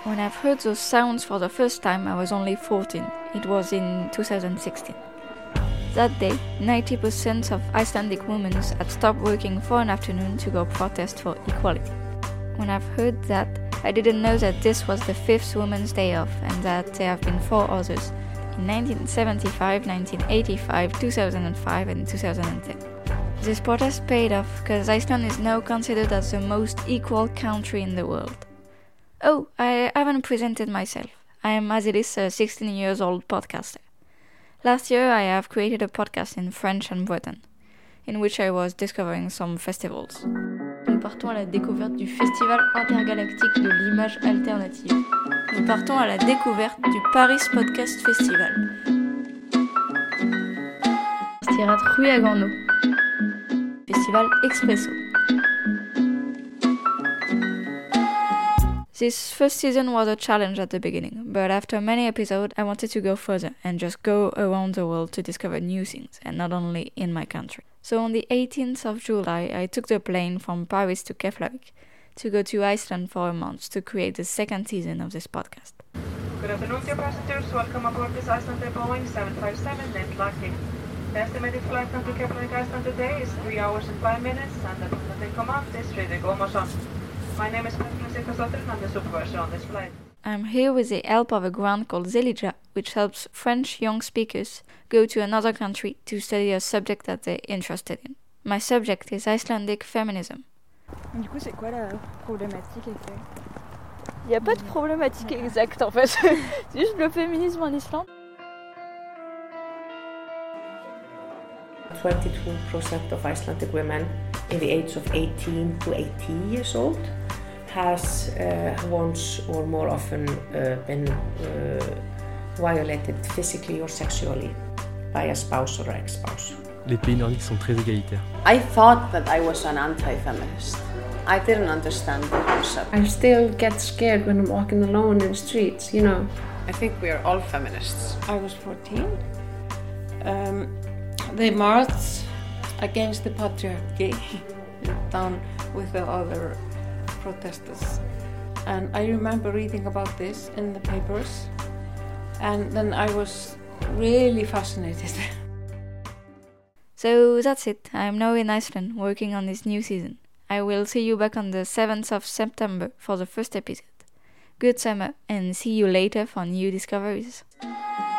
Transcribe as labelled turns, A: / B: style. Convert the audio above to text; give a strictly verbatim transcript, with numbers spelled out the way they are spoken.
A: When I've heard those sounds for the first time, I was only fourteen. It was in two thousand sixteen. That day, ninety percent of Icelandic women had stopped working for an afternoon to go protest for equality. When I've heard that, I didn't know that this was the fifth Women's Day off and that there have been four others in nineteen seventy-five, nineteen eighty-five, two thousand five and two thousand ten. This protest paid off because Iceland is now considered as the most equal country in the world. Oh, I haven't presented myself. I am Azilis, a sixteen years old podcaster. Last year I have created a podcast in French and Breton, in which I was discovering some festivals.
B: Nous partons à la découverte du Festival intergalactique de l'image alternative. Nous partons à la découverte du Paris Podcast Festival. Stirat Rue à Gano. Festival Expresso.
A: This first season was a challenge at the beginning, but after many episodes I wanted to go further and just go around the world to discover new things, and not only in my country. So on the eighteenth of July I took the plane from Paris to Keflavik to go to Iceland for a month to create the second season of this podcast.
C: Good afternoon, dear passengers. Welcome aboard this Icelandair Boeing seven five seven named Lucky. The estimated flight time to Keflavik, Iceland today is three hours and five minutes, and the pilot in command is Friðrik Ómarsson. My name is Petra Sigvarsdóttir and I'm the supervisor on this flight.
A: I'm here with the help of a grant called Zelija, which helps French young speakers go to another country to study a subject that they're interested in. My subject is Icelandic feminism.
D: Du coup, c'est quoi la problématique exacte? Il n'y a pas de problématique exacte en fait, c'est juste le féminisme en Islande.
E: twenty-two percent of Icelandic women in the age of eighteen to eighty years old has uh, once or more often uh, been uh, violated physically or sexually by a spouse or ex-spouse.
F: Les pays nordiques sont très égalitaires.
G: I thought that I was an anti-feminist. I didn't understand the concept.
H: I still get scared when I'm walking alone in the streets, you know.
G: I think we are all feminists.
I: I was fourteen. Um, they marched against the patriarchy down with the other protesters. And I remember reading about this in the papers. And then I was really fascinated.
A: So that's it. I'm now in Iceland working on this new season. I will see you back on the seventh of September for the first episode. Good summer and see you later for new discoveries.